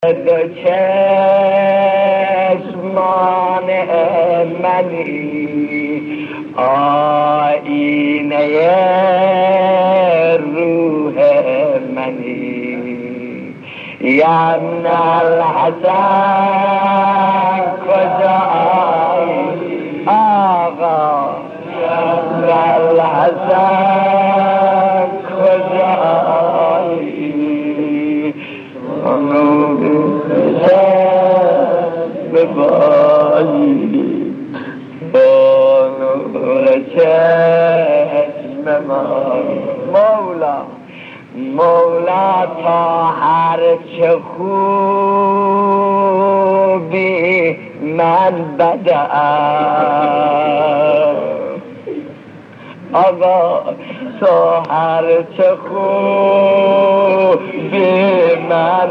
دو چشمان منی آینه روح منی یم الحسن کجایی آقا یم الحسن کجایی ببایی با نور چشم مولا تا هر چه خوبی من بدم آقا تو هر چه خوبی من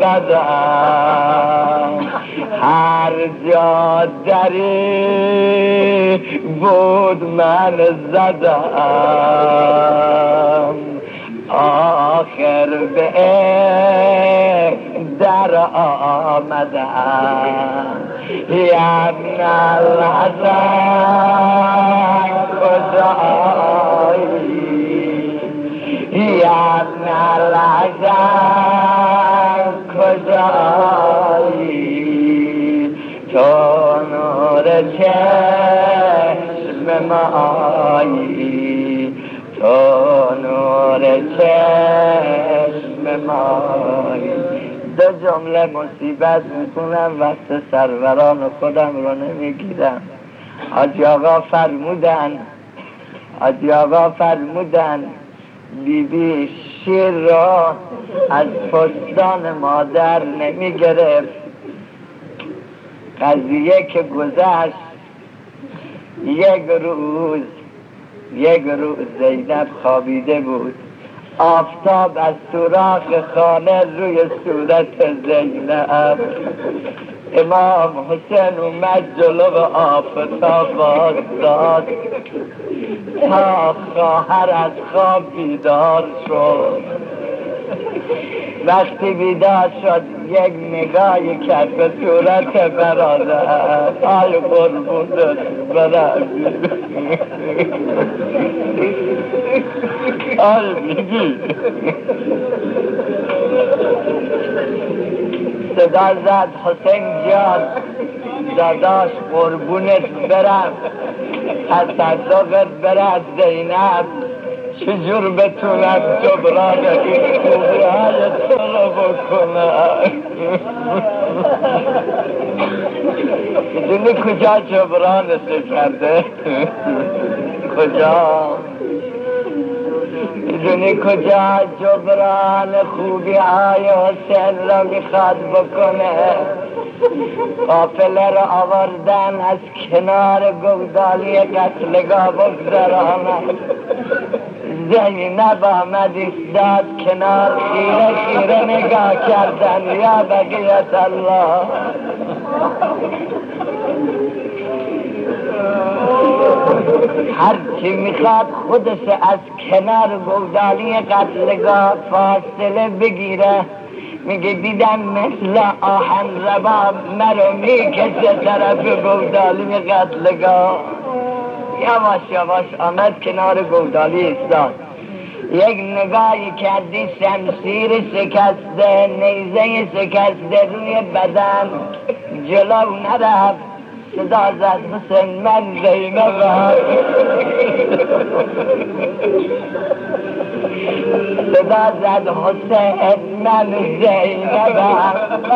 بدم هر جا دری بود من زدم آخر به در آمدم یم الحسن کجایی یم الحسن کجایی تو نور چشم مایی تو نور چشم مایی دو جمله مصیبت میکنم وقت سروران خودم رو نمیگیرم حاجی آقا فرمودن بیبی شیر را از پستان مادر نمیگرفت قضیه که گذشت یک روز زینب خوابیده بود آفتاب از سوراخ خانه روی صورت زینب امام حسین اومد جلو آفتاب وایساد تا خواهر از خواب بیدار شد وقتی بیدار شد یک نگاهی کرد به صورت برادر آی قربونت برادر آی بیبی صدا زد حسین جان داداش قربونت برم تصدقت برد زینب چجور بتونم جبران این خوبی های تو رو بکنم میدونی کجا جبرانت کرده میدونی کجا جبران خوبی های حسین را میخواد بکنه قافله را آوردن از کنار گودالی قتلگاه بگذرانه زینب آمد ایستاد کنار خیره نگاه کردن یا بقیت الله هرچی میخواد خودش از کنار گودالی قتلگاه فاصله بگیره میگه دیدم مثل آهن رباب مرو میکشه طرف گودالی قتلگاه یواش آمد کنار گودالی ایستاد یک نگاهی کردی شمشیر شکسته نیزه شکسته روی بدن جلو نرفت صدا زد حسین من زینبم صدا زد حسین من زینبم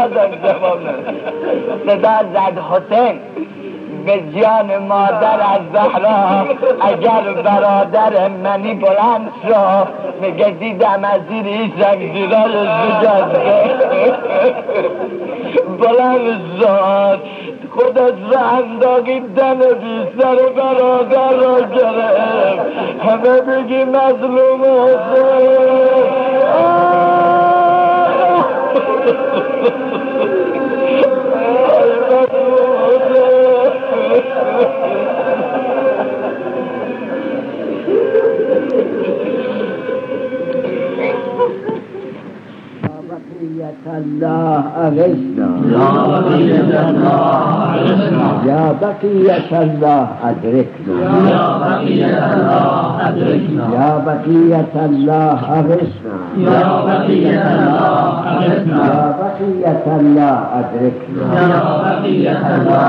صدا زد حسین به جان مادر از زهرا اگر برادر منی بلند شو میگه دیدم از زیر ایشم زیرای زجاجه بلند شد خودت را انداغیدن بی سر برادر را گرفت همه بگی مظلوم الله أغثنا يا بقية الله أدركنا يا بقية الله أغثنا يا بقية الله أدركنا يا بقية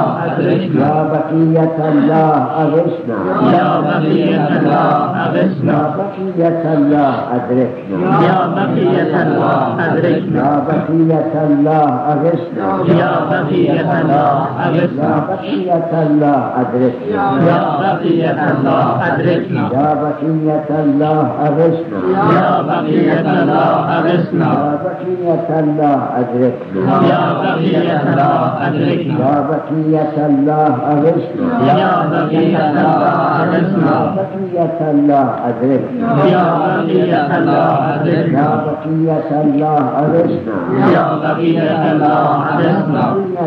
الله أغثنا يا بقية الله أدركنا يا بقية الله أدركنا يا بقية الله أغثنا يا بقية الله أغثنا يا بقية الله أدركنا يا بقية الله أدركنا يا بقية الله أغثنا يا بقية الله أغثنا يا بقية الله أدركنا يا بقية الله أدركنا يا بقية الله أغثنا يا بقية الله أغثنا يا بقية الله أدركنا يا بقية الله أدركنا يا بقية الله أغثنا يا بقية الله أغثنا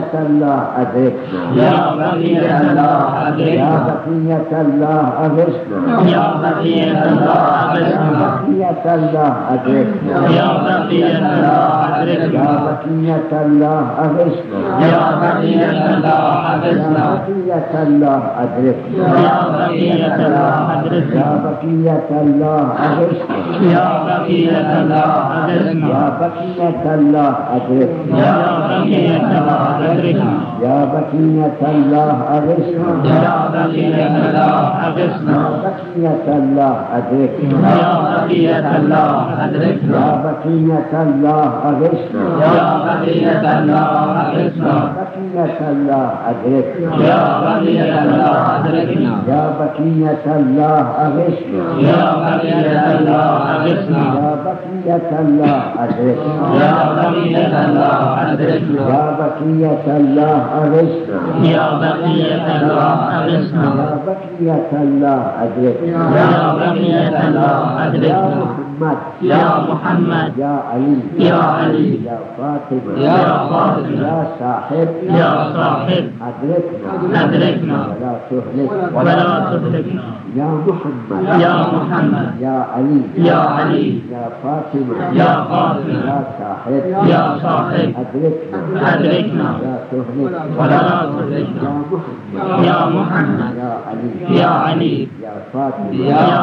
يا بقية الله أدركنا يا بقية الله أغثنا يا بقية الله أغثنا بقية الله أدركنا يا بقية الله أدركنا يا بقية الله أغثنا يا بقية الله أغثنا بقية الله أدركنا يا بقية الله أدركنا يا بقية الله أغثنا يا بقية الله أغثنا يا بقية الله أدركنا يا بقية الله أدركنا يا بقية الله أغثنا يا بقية الله أغثنا بقية الله أدركنا يا بقية الله أدركنا يا بقية الله أغثنا يا بقية الله أغثنا بقية الله أدركنا يا بقية الله أدركنا يا بقية الله أغثنا يا بقية الله أغثنا يا بقية الله أدركنا يا بقية الله أدركنا يا بقية الله أغثنا يا بقية الله أغثنا يا بقية الله أدركنا يا بقية الله أدركنا يا محمد يا علي يا علي يا فاطمة يا فاطمة يا صاحب أدركنا ولا تهلكنا يا محمد يا علي يا فاطمة يا صاحب أدركنا ولا تهلكنا يا محمد يا علي يا فاطمة يا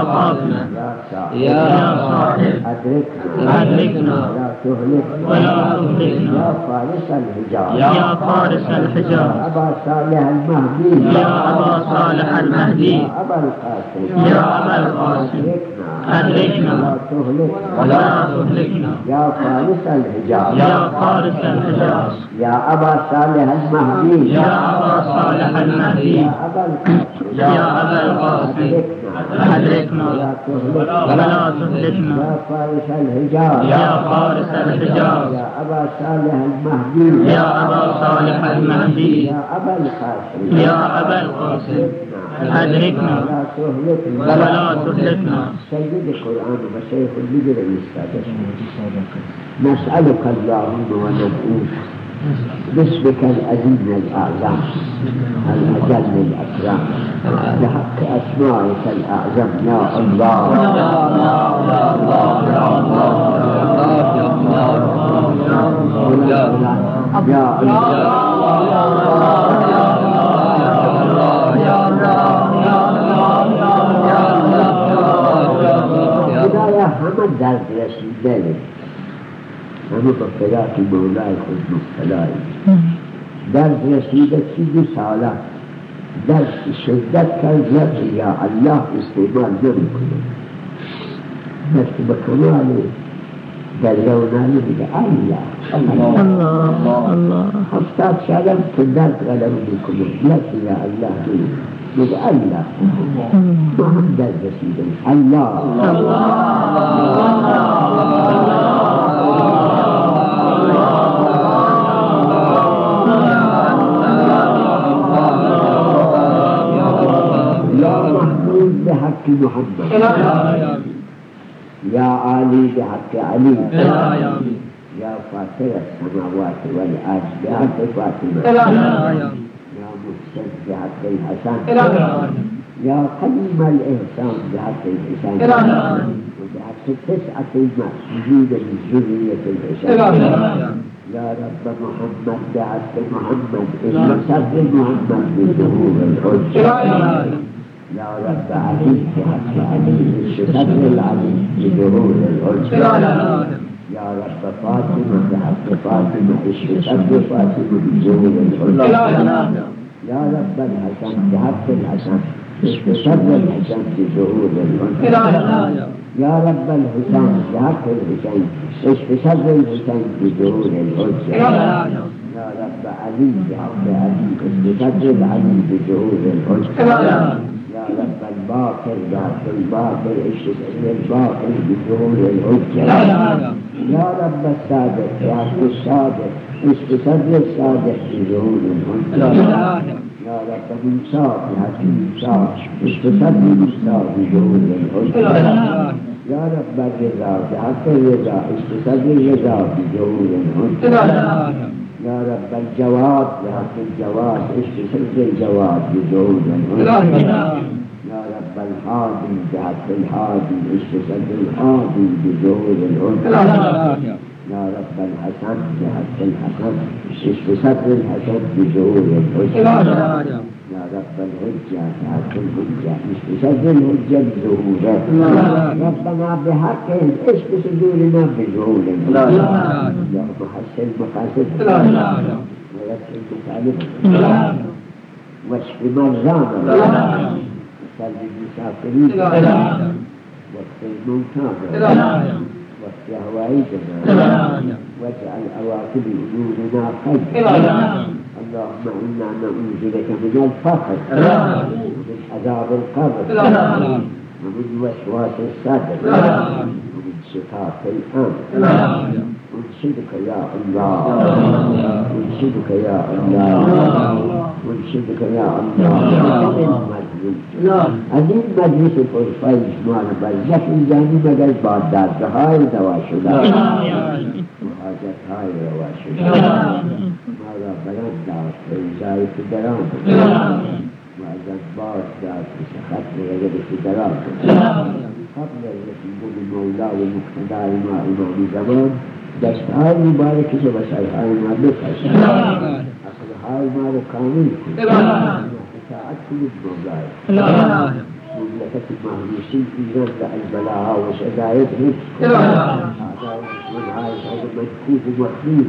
صاحب أدركنا ولا تهلكنا يا فارس الحجاز يا فارس الحجاز أبا صالح المهدي يا أبا صالح المهدي يا أبا القاسم أدركنا ولا تهلكنا يا فارس الحجاز يا فارس الحجاز يا أبا صالح المهدي يا أبا صالح المهدي يا أبا القاسم أدركنا ولا تهلكنا يا فارس الحجاز يا فارس الحجاز يا أبا صالح المهدي يا أبا صالح المهدي يا أبا القاسم أدركنا ولا تهلكنا سيد القرآن وشيخ البدر السادس نسألك اللهم وندعوك باسمك العظيم الأعظم الأجل الأكرم بحق أسمائك الأعظم يا الله يا خدایا همه درد رسیده همه با فراق مولای خود مبتلای درد رسیده 32 ساله درد شدت کرد یا الله استعمال نمیکنه دست به کمال دریونانی میگه الله 70 ساله که درد غلبه میکنه یکی یا الله میگه الله ما هم درد رسیده الله بحق محمد يا علي بحق علي يا فاطر السماوات والأرض بحق فاطمة يا محسن بحق الحسن يا قديم الإحسان بحق الحسن وبحق 9 المسجود من ذرية الحسن يا رب محمد بعث محمد صدر محمد بظهور الحجة يا رب علي بعث علي صدر العلي بظهور الحجة يا رب فاطمة بعث فاطمة صدر فاطمة بظهور الحجة يا رب الحسن بعث الحسن صدر الحسن بظهور الحجة يا رب الحسين بحق الحسين صدر الحسين بظهور الحجة يا رب علي بحق علي صدر العلي بظهور الحجة يا رب الباقر بحق الباقر صدر الباقر بظهور الحجة يا رب الصادق بحق الصادق صدر الصادق بظهور الحجة يا رب الإنصاف بحق الإنصاف صدر الإنصاف بظهور الحجة يا رب الرضا بحق الرضا صدر الرضا بظهور الحجة يا رب الجواد بحق الجواد صدر الجواد بظهور الحجة يا رب الحادي بحق الحادي صدر الحادي بظهور الحجة يا رب الحسن بحق الحسن صدر الحسن بظهور الحجة يا رب الحجة بحق الحجة صدر الحجة بظهوره ربنا بحق صدورنا بظهور الحجة يا محسن مقاصد ويسر مطالب واشف مرضانا وسلم المسافرين واغفر الموتى واغفر هوائجنا واجعل أواخر أمورنا خير اللهم إنا نعوذ بك من الفقر ومن عذاب القبر ومن وسواس الصدر ومن شقاق الأمر انشدك يا الله انشدك يا الله انشدك يا الله عظیم مجلس پرفایز مال برزخ اینجانی مگر با دردهای دوا شده حاجتهای روا شده ما را بلند داشت به ایزای فدران و از باز داشت به سخط رگد فدران قبل رسیدن مولا و مقتدار ما امام زمان دستهای مبارکی که وسایهای ما بکشد اصلهای ما را کامل کن اطاعت کنید مولای مملکت محروسین ایران و البلاها و شدایت حفظ کن اعدای دشمنهای شهر مدکوف و مخلوط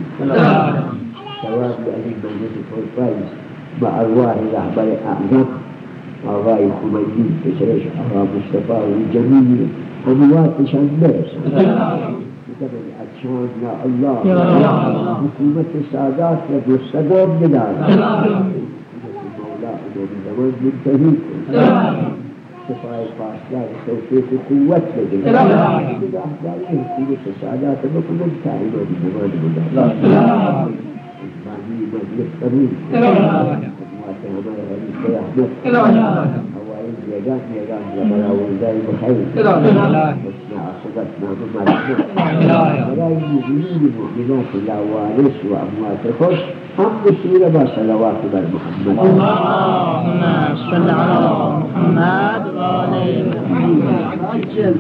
ثواب لأهل مجلس پرفایز با ارواح رهبر اعظم آقای خمینی پسرش آقا مصطفی و جمیل امواتشان برسن بقدر اتشان یا الله حکومت سادات و دوستگان بدار حکومت مولا امام زمان منتهی کن شفای پاسدار توفیق و قوت بده احضاری حکومت سادات بکنن تا امام زمان بدار ازمانی مجلس قبول خدمات همه حدیث احمد يجان لبلا ورداء بخير واسمع صدقنا بمرحمة ولا المؤمنين المؤمنات الأوالس وأموات الخش هم بسيرة بصلوات بالمحمد اللهم صل على محمد وعلى محمد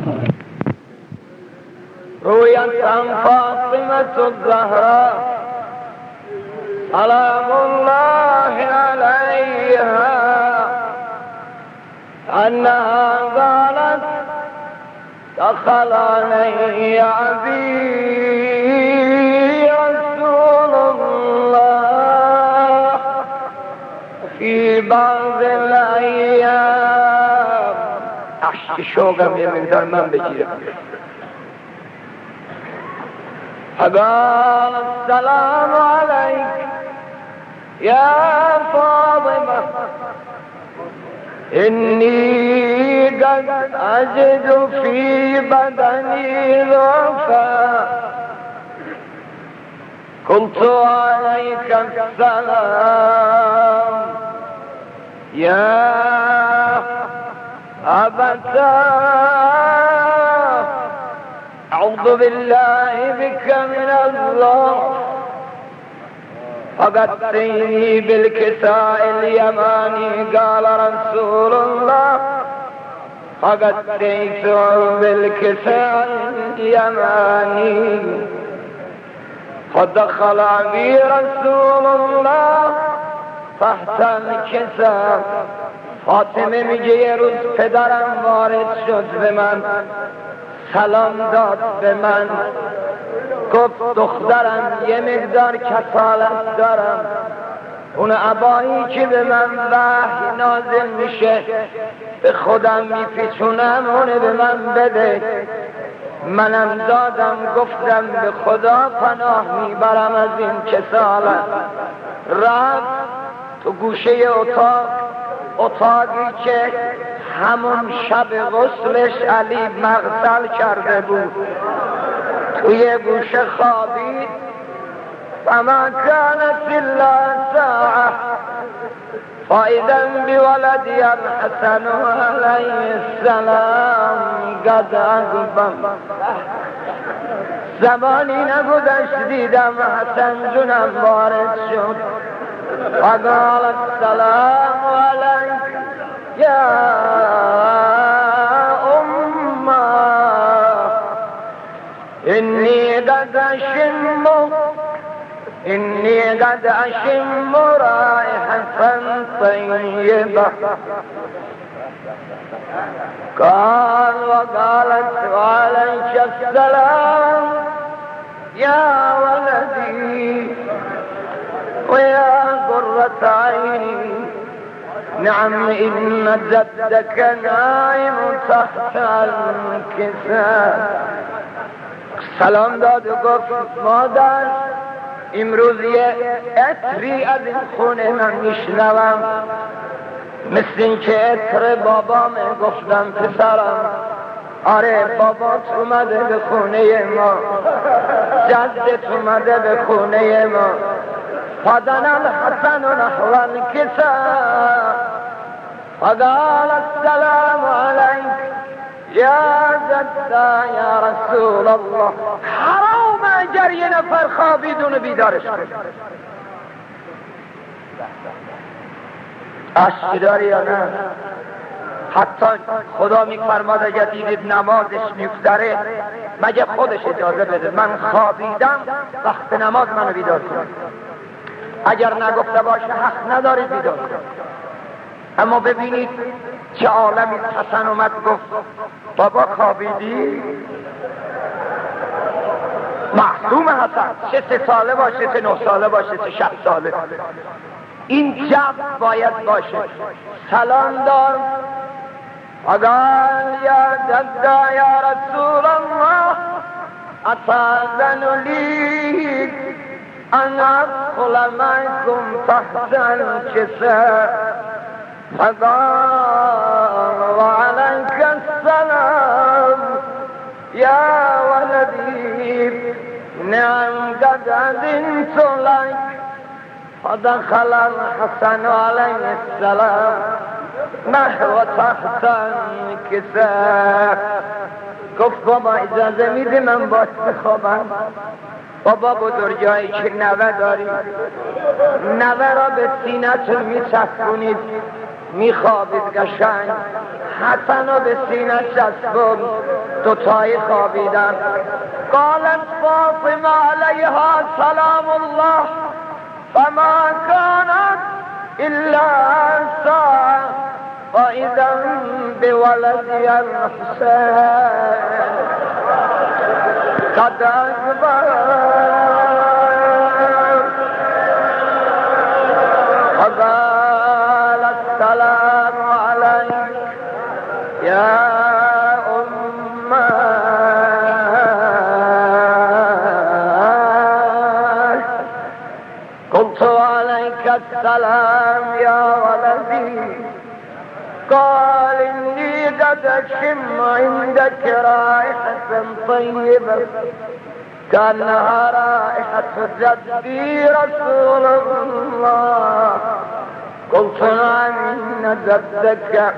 رويت عن فاطمة الزهراء سلام الله عليها أنها قالت دخل علي أبي رسول الله في بعض الأيام أحشي شوقم من درمان بجيرم فقال السلام عليك يا فاطمة إني قد أجد في بدني ضعفا قلت عليك السلام يا أبتاه أعوذ بالله بك من الضعف فقدتني بالكساء اليماني قال رسول الله فقدتني بالكساء اليماني فدخل بی رسول الله تحت الکسا. فاطمه میگه یه روز پدرم وارد شد به من، سلام داد به من، گفت دخترم یه مقدار کسالت دارم، اون عبایی که به من وحی نازل میشه به خودم میپیچونم، اونه به من بده. منم دادم، گفتم به خدا پناه میبرم از این کسالت. رفت تو گوشه اتاقی که همون شب غسلش علی مغسل کرده بود، توی گوشه خوابید. فما كانت الا ساعه فاذا بولدي الحسن عليه السلام قد اقبل. زمانی نگذشت دیدم حسن جونم وارد شد. فقال السلام عليك يا إني قد أشم رائحة طيبة. قال وقالت وعليك السلام يا ولدي ويا قرة عيني. نعم إن جدك نائم تحت الكساء. سلام داد و گفت مادر امروز یه عطری از این خونه من میشنوم، مثل این که عطر بابامه. گفتم پسرم آره بابات اومده به خونه ما، جدت اومده به خونه ما. فدنا الحسن نحو الكساء فقال السلام عليك يا جدا يا رسول الله. حرام اگر یه نفر خوابیدون بیدارش کنه. عشق داری یا نه؟ حتی خدا میفرماد اگر دیدید نمازش میگذره مگه خودش اجازه بده من خوابیدم وقت نماز منو بیدار کن. اگر نگفته باشه حق ندارید بیدار کن. اما ببینید چه عالمی. حسن اومد گفت بابا خوابیدی؟ معصوم حسن، چه 3 ساله باشه، چه 9 ساله باشه، چه 60 ساله، این جو باید باشه. سلام دار قال یا جدا یا رسول الله اتاذن لی ان ادخل معكم تحت الكساء. فقال وعليك السلام يا ولدي نعم قد أذنت لك. فدخل الحسن عليه السلام نحو تحت الكساء. گفت بابا اجازه میده من باید بخوابم؟ بابا بزرگایی که نوه داری، نوه را به سینه‌تون میچسبونید میخوابید قشنگ. حسن را به سینه چسبون، دوتایی خوابیدن. قالت فاطمه علیها سلام الله فما كانت الا ساعه فاذا بولدي الحسين قد اقبل. فقال السلام عليك يا قلت عليك السلام يا ولدي. قال إني قد أشم عندك رائحة طيبة كأنها رائحة جدي رسول الله. قلت نعم إن جدك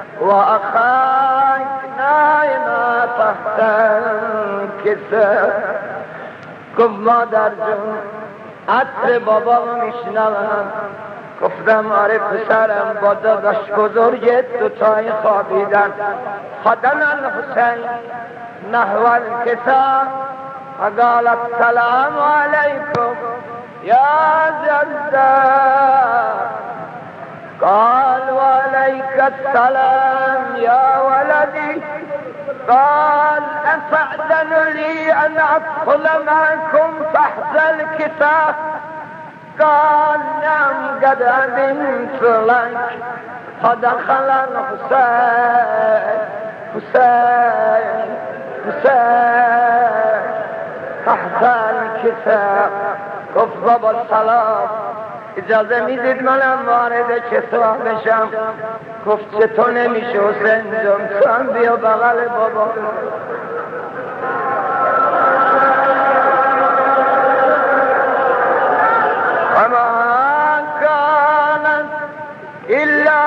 وأخاك نائما تحت الكساء. گفت مادر جون عطر بابا میشنوم. گفتم آره پسرم با داداش بزرگت دوتای خوابیدن. فدنا الحسین نحو الکساء فقال السلام عليكم يا جدة. قال وعليك السلام يا ولدي. قال أفأذن لي أن أدخل معكم تحت الكتاب؟ قال نعم قد أذنت لك. فدخل الحسين تحت الكتاب. گفت بابا سلام، اجازه میدید منم وارد کتاب بشم؟ گفت چطور نمیشه حسین جان، تو هم بیا بغل بابا. اما کانت الا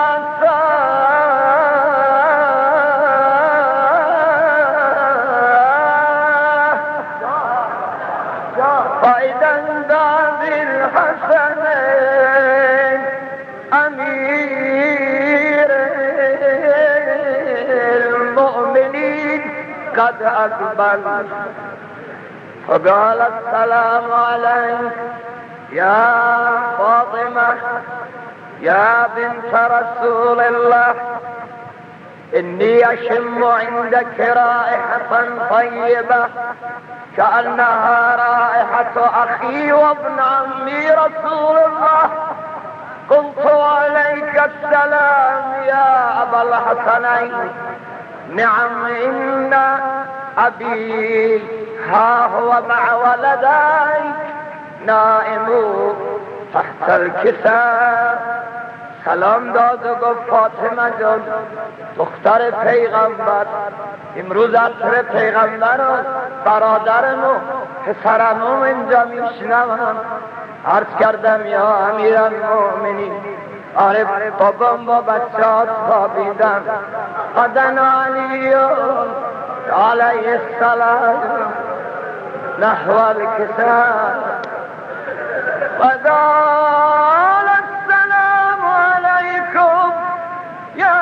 قد أقبل. فقال السلام عليك يا فاطمة يا بنت رسول الله، إني أشم عندك رائحة طيبة كأنها رائحة أخي وابن عمي رسول الله. قلت عليك السلام يا أبا الحسنين. نعم إن أبي ها هو مع ولديك نائم تحت الكساء. سلام داد و گفت فاطمه جان دختر پیغمبر، امروز عصر پیغمبر و برادرم و پسرم اینجا میشنوم. عرض کردم یا امیرالمؤمنین، آره بابام با بچه‌هات خوابیدن. قدن علی علیه السلام نحو الکساء. وقال السلام علیکم یا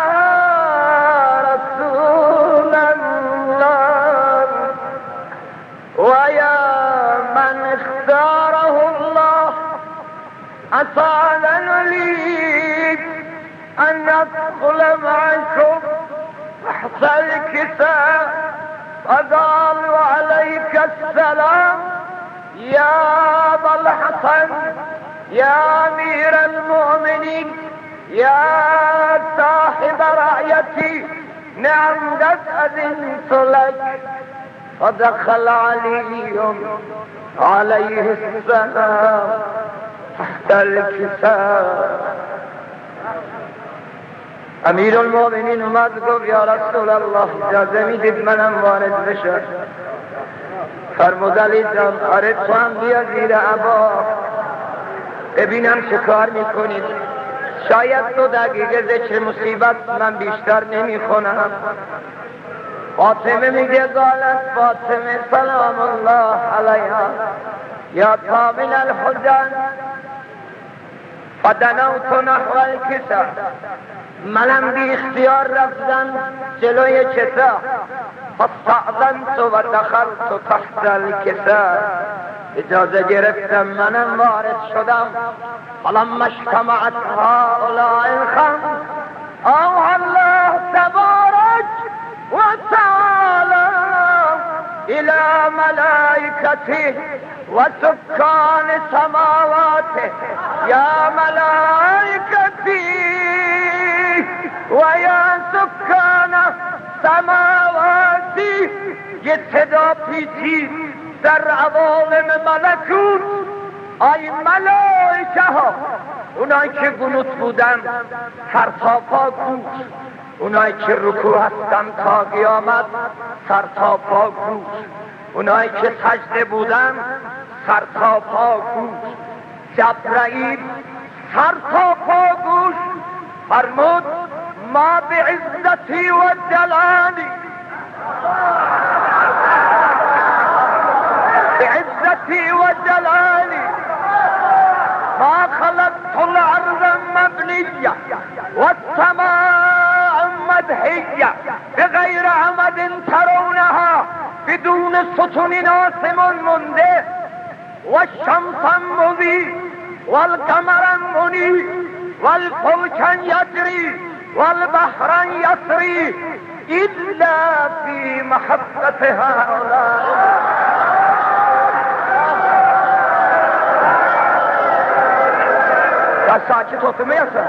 رسول الله و یا من اختاره الله. أطال لي أن أدخل معكم تحت الكساء. فقال وعليك السلام يا أبا الحسن يا أمير المؤمنين يا صاحب رعيتي، نعم قد أذنت لك. فدخل علي عليه السلام تحت الكساء. امیر المؤمنین اومد گفت یا رسول الله اجازه میدید منم وارد بشم؟ فرمود علی جان آره تو هم بیا زیر عبا ببینم چه کار میکنید. شاید 2 دقیقه ذکر مصیبت من بیشتر نمیخونم. فاطمه میگه قالت فاطمه سلام الله علیها یا طامن الحزن فدنوت نحو الكساء. منم بی اختیار رفتم جلوی کساء. فاستأذنت و دخلت تحت الكساء. اجازه گرفتم منم وارد شدم. فلما اجتمعت هؤلاء الخمس اوحى الله تبارك وتعالى الى ملائكته وسكان سماواته يا ملائكتي ويا سكان سماواتی. یه صدا پیچید در عوالم ملکوت. ای ملائکه ها، اونایی که قنوت بودن سر تا پا گوش، اونایی که رکوع هستن تا قیامت سر تا پا گوش، اونایی که سجده بودن سر تا پا گوش. جبرائیل سر تا پا گوش فرمود ما بعزتی و جلالی بعزتی و جلالی ما خلقت الارض مبنیه و السماء مدحیه بغیر عمد ترونها بدون ستون آسمان مونده و الشمس مضی و القمر منی و الفلک یجری و البحر یسری الا فی محبت هؤلاء. ساکت oturmayasın.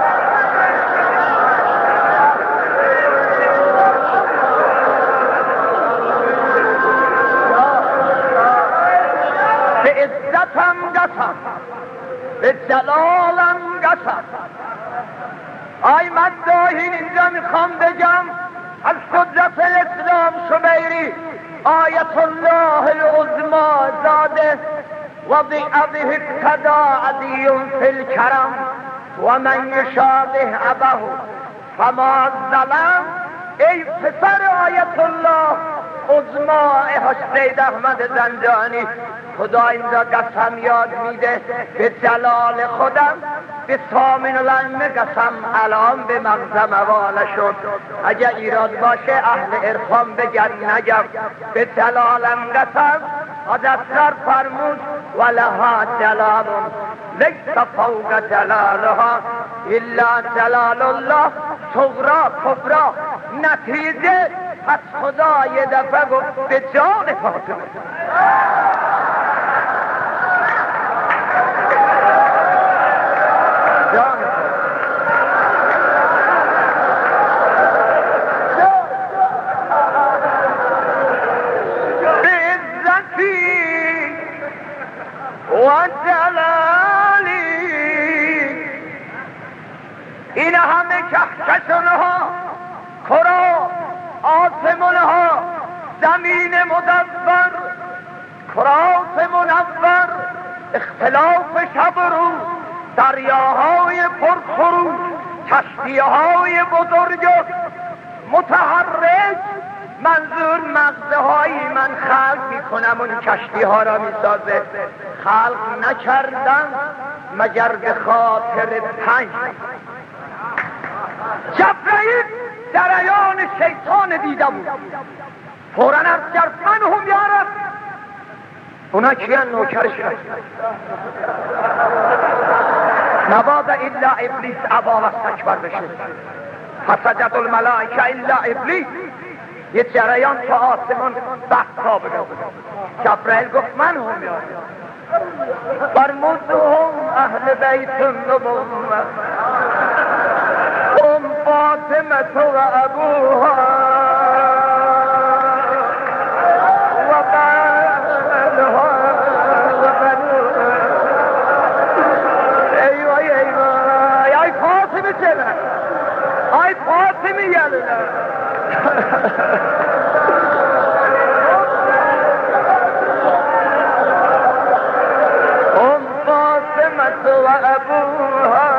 به عزتم قسم، به جلالم قسم. آی مداحین اینجا میخوام بگم از قدرت الاسلام شبیری آیت الله العظمی زاده و بأبه اقتدا عدی فی الکرم و من یشابه ابه فما ظلم. ای پسر آیت الله عظمی حسین احمد زنجانی، خدا اینجا قسم یاد میده به جلال خودم، به سامن العلم قسم الان به مغزم حواله شد. اگه ایراد باشه اهل عرفان بگن نگم. به جلالم قسم حضرت فرمود ولها جلال لیس فوق جلالها الا جلال الله صغرا کبرا. نتیجه پس خدا یه دفعه گفت به جان فاطمه. و جلالی این همه کهکشانها، کرا، آسمانها، زمین مدور، کرات منور، اختلاف شب و روز، دریاهای پرخروش، کشتیهای بزرگ متحرک. منظور مغزهایی من خلق میکنم اون کشتی ها را میسازه. خلق نکردم مگر به خاطر تنگ. جبرئیل جریان شیطان دیده بود، فوراً عرض کرد من هم یارب. اونا کیان؟ نوکرشون. نباد الا ابلیس ابا و استکبر بشه. فسجد الملائکه الا ابلیس. یه جریان تا آسمان بحثا بگو. جبرائیل گفت من هم یارب. فرمودهم اهل بیت النبوة هم فاطمة و ابوها و بنها و بنوها. ایوه ایوه ای فاطمه چنه، ای فاطمه یلنه. وأبوها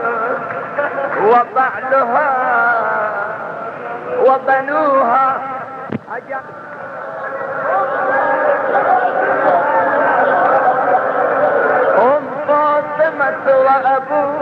وبعلها وبنوها. هم فاطمة وأبوها